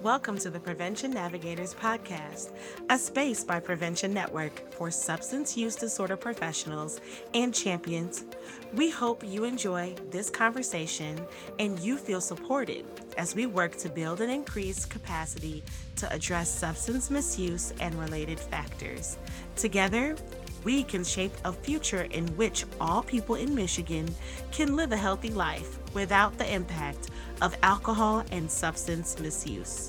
Welcome to the Prevention Navigators Podcast, a space by Prevention Network for substance use disorder professionals and champions. We hope you enjoy this conversation and you feel supported as we work to build and increase capacity to address substance misuse and related factors. Together, we can shape a future in which all people in Michigan can live a healthy life without the impact of alcohol and substance misuse.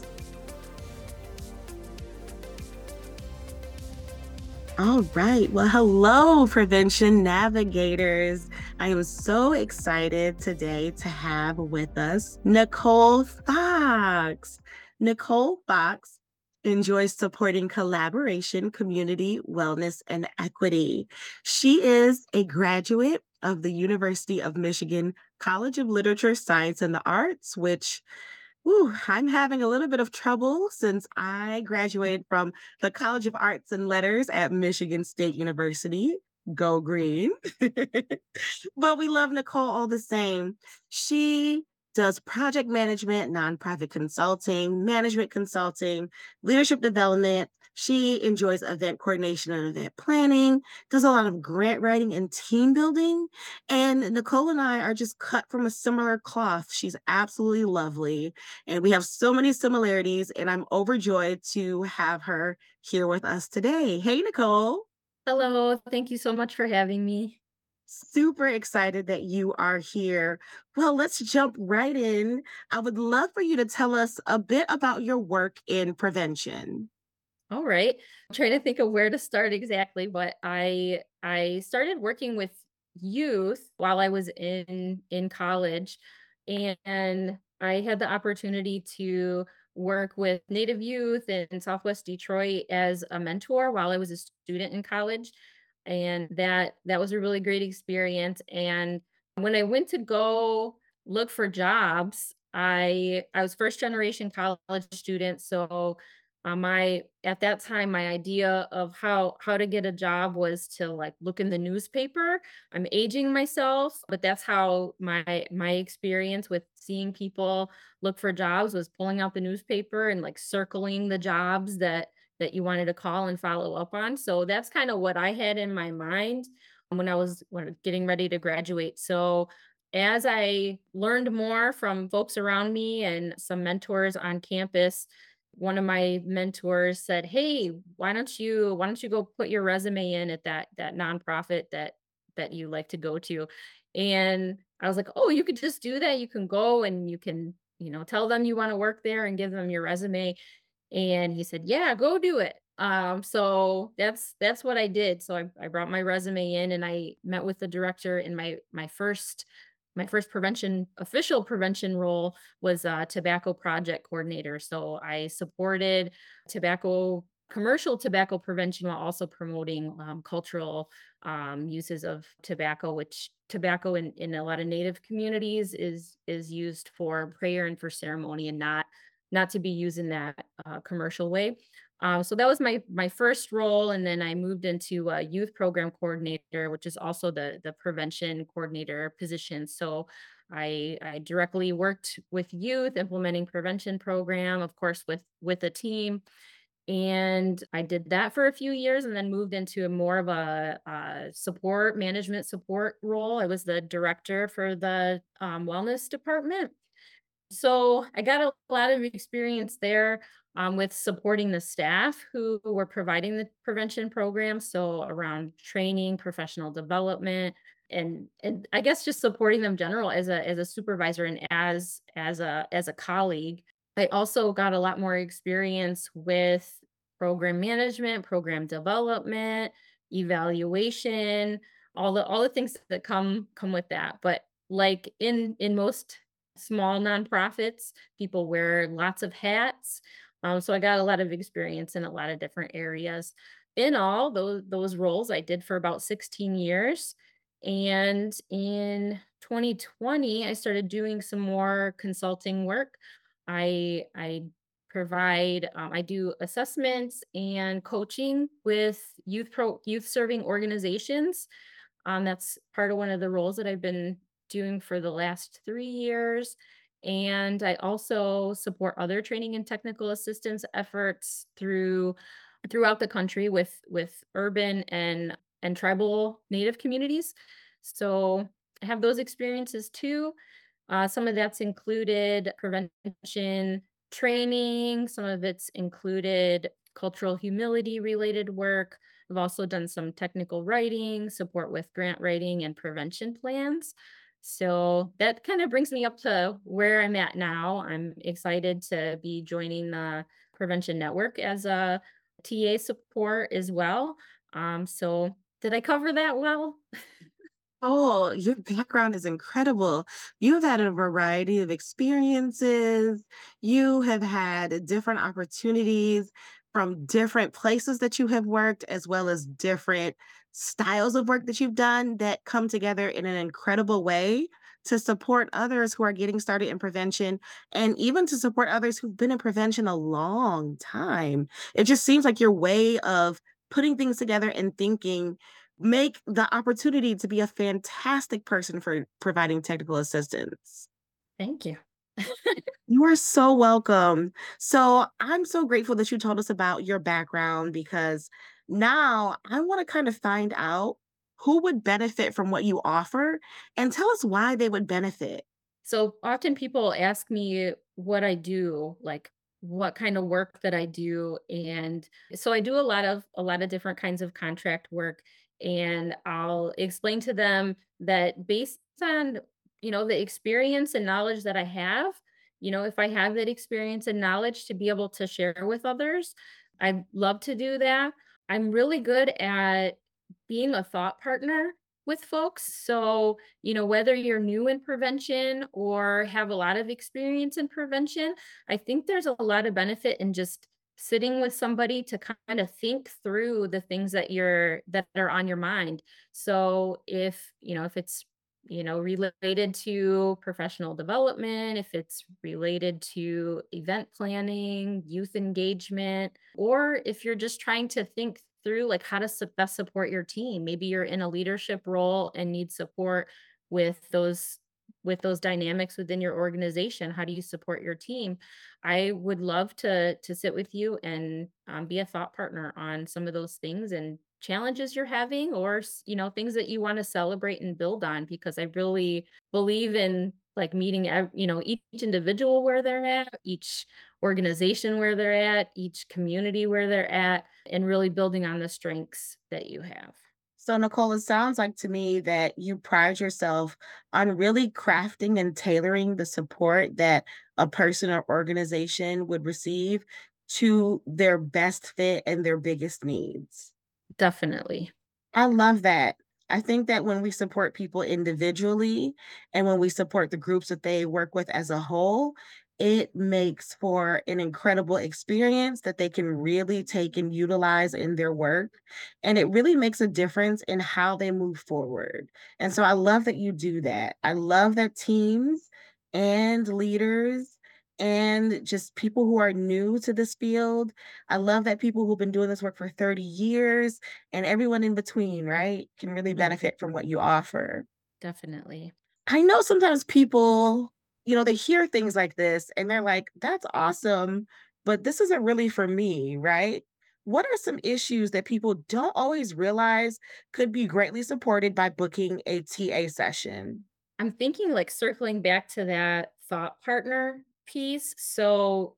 All right. Well, hello, Prevention Navigators. I am so excited today to have with us Nicole Fox. Nicole Fox enjoys supporting collaboration, community, wellness, and equity. She is a graduate of the University of Michigan College of Literature, Science, and the Arts, which I'm having a little bit of trouble since I graduated from the College of Arts and Letters at Michigan State University. Go green. But we love Nicole all the same. She does project management, nonprofit consulting, management consulting, leadership development. She enjoys event coordination and event planning, does a lot of grant writing and team building. And Nicole and I are just cut from a similar cloth. She's absolutely lovely. And we have so many similarities, and I'm overjoyed to have her here with us today. Hey, Nicole. Hello, thank you so much for having me. Super excited that you are here. Well, let's jump right in. I would love for you to tell us a bit about your work in prevention. All right. I'm trying to think of where to start exactly, but I started working with youth while I was in college, and I had the opportunity to work with Native youth in Southwest Detroit as a mentor while I was a student in college, and that was a really great experience. And when I went to go look for jobs, I was first generation college student, so my at that time, my idea of how to get a job was to like look in the newspaper. I'm aging myself, but that's how my experience with seeing people look for jobs was pulling out the newspaper and like circling the jobs that you wanted to call and follow up on. So that's kind of what I had in my mind when getting ready to graduate. So as I learned more from folks around me and some mentors on campus, one of my mentors said, "Hey, why don't you go put your resume in at that nonprofit that you like to go to?" And I was like, "Oh, you could just do that. You can go and you can, tell them you want to work there and give them your resume." And he said, "Yeah, go do it." So that's what I did. So I brought my resume in and I met with the director in my first official prevention role was a tobacco project coordinator. So I supported tobacco commercial tobacco prevention while also promoting cultural uses of tobacco, which tobacco in a lot of native communities is used for prayer and for ceremony and not to be used in that commercial way. So that was my first role, and then I moved into a youth program coordinator, which is also the prevention coordinator position. So I directly worked with youth implementing prevention program, of course, with a team, and I did that for a few years, and then moved into a more of a support management support role. I was the director for the wellness department, so I got a lot of experience there with supporting the staff who were providing the prevention program. So around training, professional development, and I guess just supporting them general as a supervisor and as a colleague. I also got a lot more experience with program management, program development, evaluation, all the things that come with that. But like in most small nonprofits, people wear lots of hats. So I got a lot of experience in a lot of different areas. In all, those roles I did for about 16 years. And in 2020, I started doing some more consulting work. I do assessments and coaching with youth serving organizations. That's part of one of the roles that I've been doing for the last 3 years. And I also support other training and technical assistance efforts throughout the country with urban and tribal native communities. So I have those experiences too. Some of that's included prevention training, some of it's included cultural humility related work. I've also done some technical writing, support with grant writing and prevention plans. So that kind of brings me up to where I'm at now. I'm excited to be joining the Prevention Network as a TA support as well. So did I cover that well? Oh, your background is incredible. You've had a variety of experiences. You have had different opportunities from different places that you have worked, as well as different styles of work that you've done that come together in an incredible way to support others who are getting started in prevention and even to support others who've been in prevention a long time. It just seems like your way of putting things together and thinking make the opportunity to be a fantastic person for providing technical assistance. Thank you. You are so welcome. So, I'm so grateful that you told us about your background because now I want to kind of find out who would benefit from what you offer and tell us why they would benefit. So often people ask me what I do, like what kind of work that I do. And so I do a lot of different kinds of contract work. And I'll explain to them that based on, the experience and knowledge that I have, if I have that experience and knowledge to be able to share with others, I'd love to do that. I'm really good at being a thought partner with folks. So, whether you're new in prevention or have a lot of experience in prevention, I think there's a lot of benefit in just sitting with somebody to kind of think through the things that are on your mind. So, if it's related to professional development, if it's related to event planning, youth engagement, or if you're just trying to think through like how to best support your team. Maybe you're in a leadership role and need support with those dynamics within your organization. How do you support your team? I would love to sit with you and be a thought partner on some of those things and challenges you're having, or things that you want to celebrate and build on, because I really believe in like meeting each individual where they're at, each organization where they're at, each community where they're at, and really building on the strengths that you have. So, Nicole, it sounds like to me that you pride yourself on really crafting and tailoring the support that a person or organization would receive to their best fit and their biggest needs. Definitely. I love that. I think that when we support people individually and when we support the groups that they work with as a whole, it makes for an incredible experience that they can really take and utilize in their work. And it really makes a difference in how they move forward. And so I love that you do that. I love that teams and leaders and just people who are new to this field. I love that people who've been doing this work for 30 years and everyone in between, right, can really Mm, benefit from what you offer. definitely. I know sometimes people, they hear things like this and they're like, that's awesome, but this isn't really for me, right? What are some issues that people don't always realize could be greatly supported by booking a TA session? I'm thinking like circling back to that thought partner piece. So,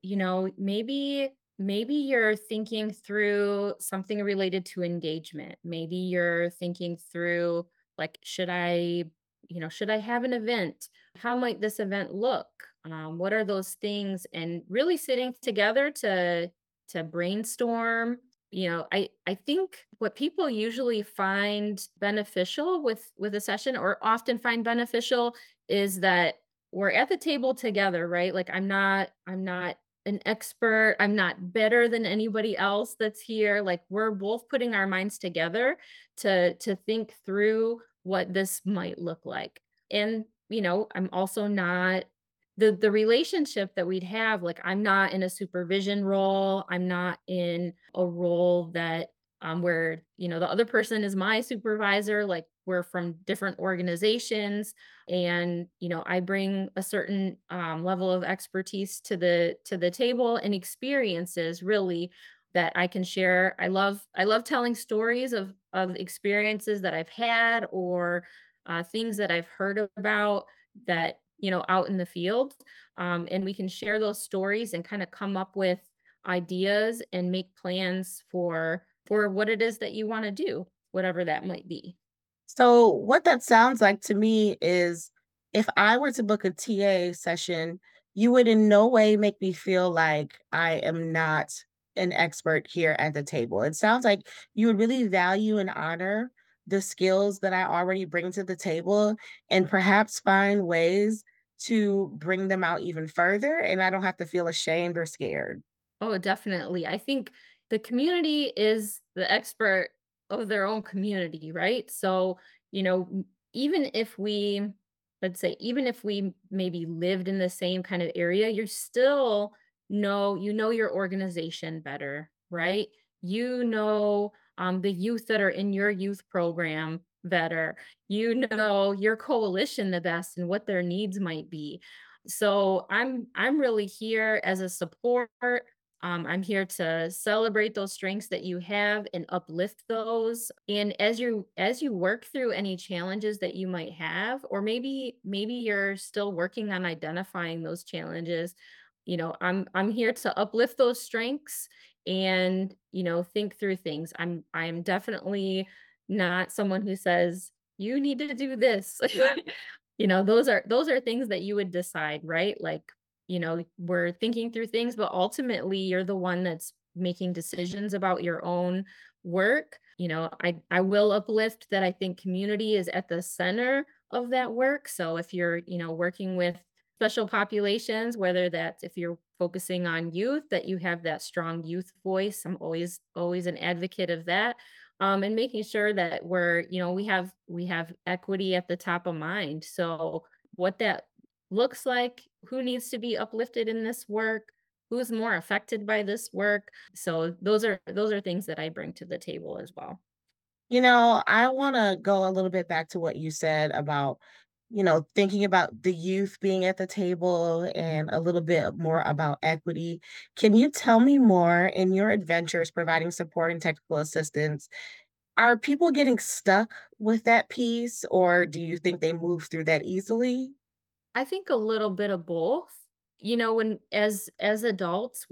maybe you're thinking through something related to engagement. Maybe you're thinking through like should I have an event? How might this event look? What are those things? And really sitting together to brainstorm. I think what people usually find beneficial with a session, or often find beneficial, is that we're at the table together, right? Like I'm not an expert, I'm not better than anybody else that's here. Like we're both putting our minds together to think through what this might look like. And I'm also not the relationship that we'd have. Like I'm not in a supervision role, I'm not in a role that where the other person is my supervisor. Like we're from different organizations, and I bring a certain level of expertise to the table and experiences really that I can share. I love telling stories of experiences that I've had, or things that I've heard about that out in the field, and we can share those stories and kind of come up with ideas and make plans for what it is that you want to do, whatever that might be. So, what that sounds like to me is if I were to book a TA session, you would in no way make me feel like I am not an expert here at the table. It sounds like you would really value and honor the skills that I already bring to the table and perhaps find ways to bring them out even further. And I don't have to feel ashamed or scared. Oh, definitely. I think the community is the expert of their own community, right? So, even if we, let's say, even if we maybe lived in the same kind of area, you're still you know your organization better, right? You know the youth that are in your youth program better. You know your coalition the best and what their needs might be. So I'm really here as a support. I'm here to celebrate those strengths that you have and uplift those. And as you work through any challenges that you might have, or maybe you're still working on identifying those challenges, I'm here to uplift those strengths and think through things. I'm definitely not someone who says you need to do this. Those are things that you would decide, right? Like, we're thinking through things, but ultimately you're the one that's making decisions about your own work. I will uplift that I think community is at the center of that work. So if you're, working with special populations, whether that's if you're focusing on youth, that you have that strong youth voice. I'm always an advocate of that. And making sure that we have equity at the top of mind. So what that looks like, who needs to be uplifted in this work, who's more affected by this work. So those are things that I bring to the table as well. I want to go a little bit back to what you said about, thinking about the youth being at the table and a little bit more about equity. Can you tell me more in your adventures providing support and technical assistance? Are people getting stuck with that piece, or do you think they move through that easily? I think a little bit of both. When as adults,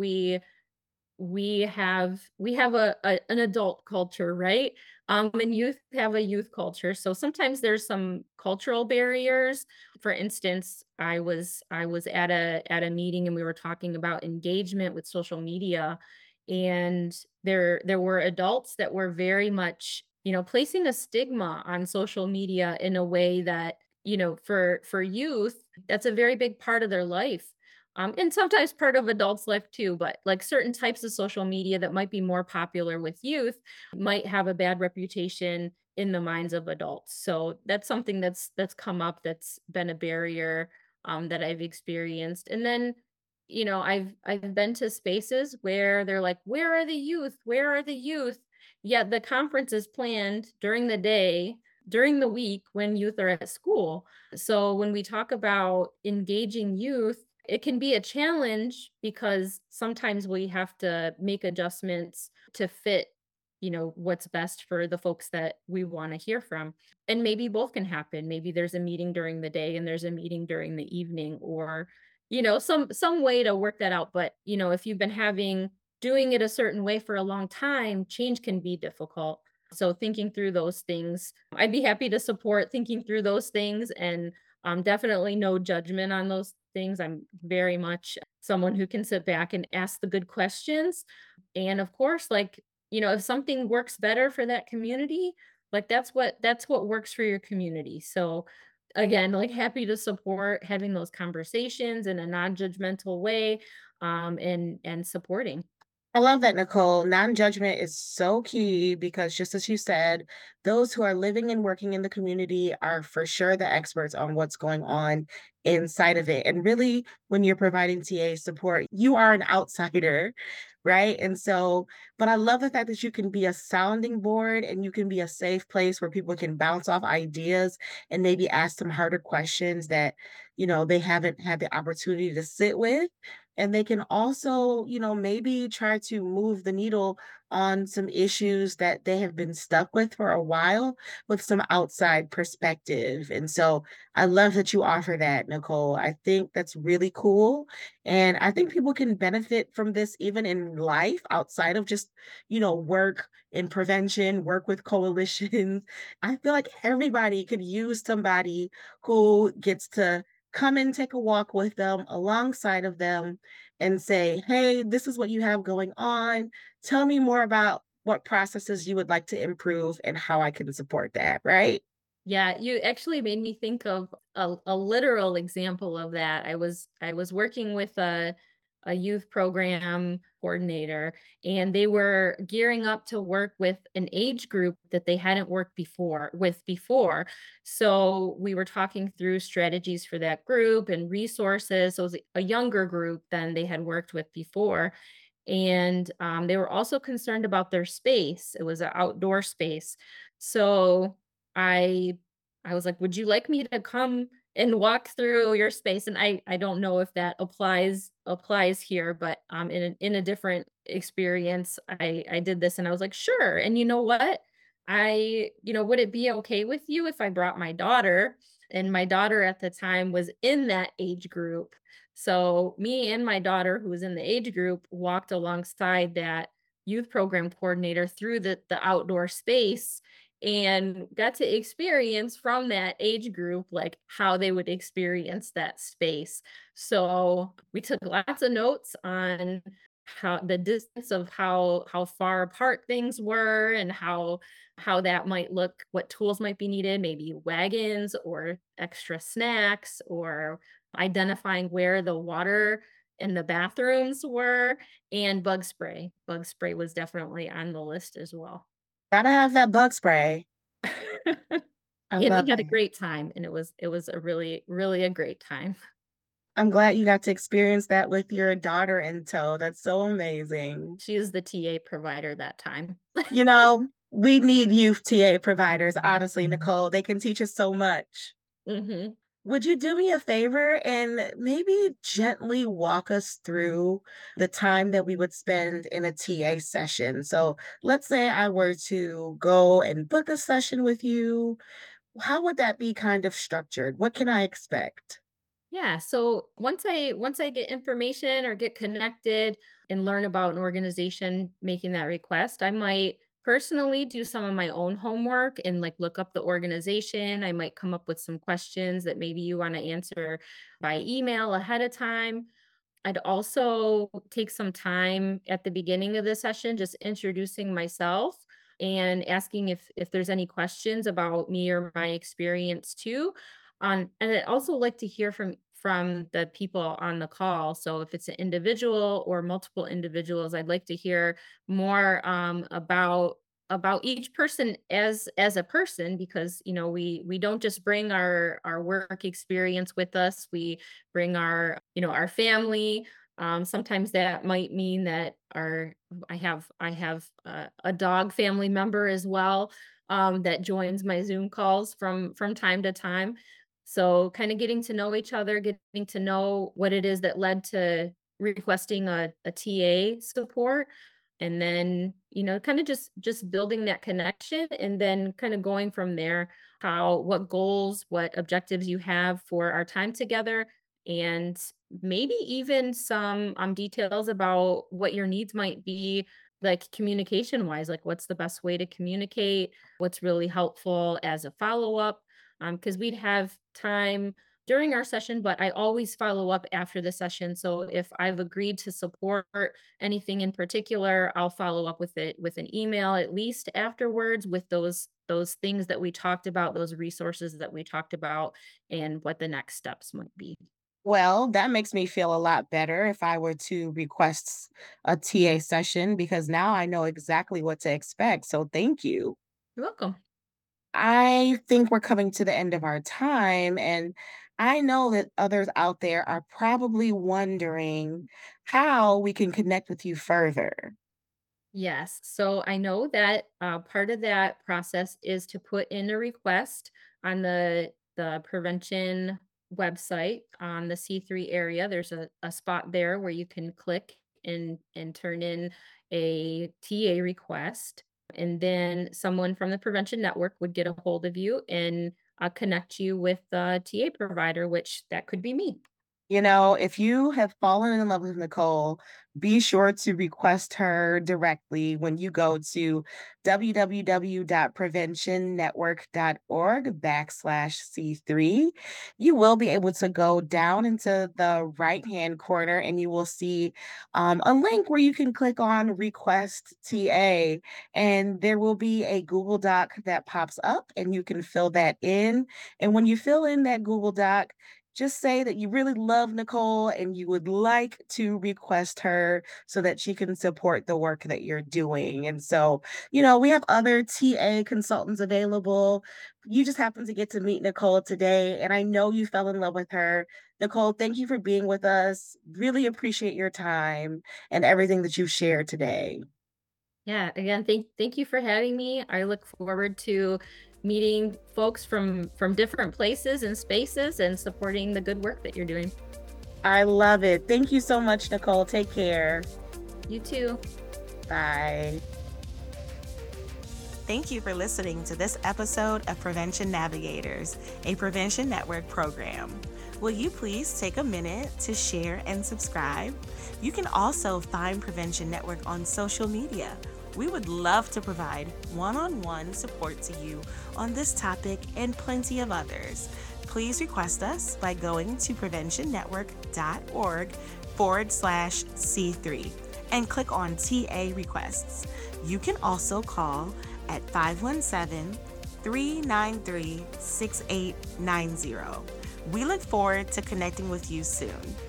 we have an adult culture, right? And youth have a youth culture. So sometimes there's some cultural barriers. For instance, I was at a meeting and we were talking about engagement with social media, and there were adults that were very much, placing a stigma on social media in a way that, for youth, that's a very big part of their life, and sometimes part of adults' life too, but like certain types of social media that might be more popular with youth might have a bad reputation in the minds of adults. So that's something that's come up, that's been a barrier that I've experienced. And then, I've been to spaces where they're like, "Where are the youth? Where are the youth?" Yet the conference is planned during the day, during the week when youth are at school. So when we talk about engaging youth, it can be a challenge because sometimes we have to make adjustments to fit, what's best for the folks that we want to hear from. And maybe both can happen. Maybe there's a meeting during the day and there's a meeting during the evening, or, some way to work that out. But, if you've been doing it a certain way for a long time, change can be difficult. So thinking through those things, I'd be happy to support thinking through those things, and definitely no judgment on those things. I'm very much someone who can sit back and ask the good questions. And of course, like, if something works better for that community, like that's what works for your community. So again, like happy to support having those conversations in a non-judgmental way, and supporting. I love that, Nicole. Non-judgment is so key because just as you said, those who are living and working in the community are for sure the experts on what's going on inside of it. And really, when you're providing TA support, you are an outsider, right? And so, but I love the fact that you can be a sounding board and you can be a safe place where people can bounce off ideas and maybe ask some harder questions that, they haven't had the opportunity to sit with, and they can also, maybe try to move the needle on some issues that they have been stuck with for a while with some outside perspective. And so I love that you offer that, Nicole. I think that's really cool. And I think people can benefit from this even in life outside of just, work in prevention, work with coalitions. I feel like everybody could use somebody who gets to come and take a walk with them alongside of them and say, hey, this is what you have going on. Tell me more about what processes you would like to improve and how I can support that, right? Yeah, you actually made me think of a literal example of that. I was working with a youth program coordinator, and they were gearing up to work with an age group that they hadn't worked before. So we were talking through strategies for that group and resources. So it was a younger group than they had worked with before. And they were also concerned about their space. It was an outdoor space. So I I was like, "Would you like me to come and walk through your space?" And I don't know if that applies here, but in a different experience, I did this and I was like, "Sure." And you know what? Would it be okay with you if I brought my daughter? And my daughter at the time was in that age group. So me and my daughter, who was in the age group, walked alongside that youth program coordinator through the outdoor space and got to experience from that age group like how they would experience that space. So we took lots of notes on how the distance of how far apart things were and how that might look, what tools might be needed, maybe wagons or extra snacks or identifying where the water in the bathrooms were, and bug spray. Bug spray was definitely on the list as well. Gotta have that bug spray. I And love we had a it. great time, and it was a really, really a great time. I'm glad you got to experience that with your daughter in tow. That's so amazing. She is the TA provider that time. We need youth TA providers, honestly, Nicole. They can teach us so much. Mhm. Would you do me a favor and maybe gently walk us through the time that we would spend in a TA session? So let's say I were to go and book a session with you. How would that be kind of structured? What can I expect? Yeah, so once I get information or get connected and learn about an organization making that request, I might personally do some of my own homework and like look up the organization. I might come up with some questions that maybe you want to answer by email ahead of time. I'd also take some time at the beginning of the session just introducing myself and asking if there's any questions about me or my experience too. And I'd also like to hear from the people on the call. So if it's an individual or multiple individuals, I'd like to hear more about each person as a person, because we don't just bring our work experience with us. We bring our family. Sometimes that might mean that our I have a dog family member as well, that joins my Zoom calls from time to time. So kind of getting to know each other, getting to know what it is that led to requesting a TA support, and then kind of just building that connection, and then kind of going from there, how what goals, what objectives you have for our time together, and maybe even some details about what your needs might be, like communication wise, like what's the best way to communicate, what's really helpful as a follow up, because we'd have time during our session, but I always follow up after the session. So if I've agreed to support anything in particular, I'll follow up with it with an email at least afterwards with those things that we talked about, those resources that we talked about, and what the next steps might be. Well, that makes me feel a lot better if I were to request a TA session because now I know exactly what to expect. So thank you. You're welcome. I think we're coming to the end of our time, and I know that others out there are probably wondering how we can connect with you further. Yes. So I know that part of that process is to put in a request on the prevention website on the C3 area. There's a spot there where you can click and turn in a TA request. And then someone from the prevention network would get a hold of you and connect you with the TA provider, which that could be me. If you have fallen in love with Nicole, be sure to request her directly when you go to www.preventionnetwork.org/C3. You will be able to go down into the right-hand corner and you will see a link where you can click on Request TA. And there will be a Google Doc that pops up and you can fill that in. And when you fill in that Google Doc, just say that you really love Nicole and you would like to request her so that she can support the work that you're doing. And so, we have other TA consultants available. You just happen to get to meet Nicole today, and I know you fell in love with her. Nicole, thank you for being with us. Really appreciate your time and everything that you've shared today. Yeah, again, thank you for having me. I look forward to meeting folks from different places and spaces and supporting the good work that you're doing. I love it. Thank you so much, Nicole. Take care. You too. Bye. Thank you for listening to this episode of Prevention Navigators, a Prevention Network program. Will you please take a minute to share and subscribe? You can also find Prevention Network on social media. We would love to provide one-on-one support to you on this topic and plenty of others. Please request us by going to preventionnetwork.org/C3 and click on TA requests. You can also call at 517-393-6890. We look forward to connecting with you soon.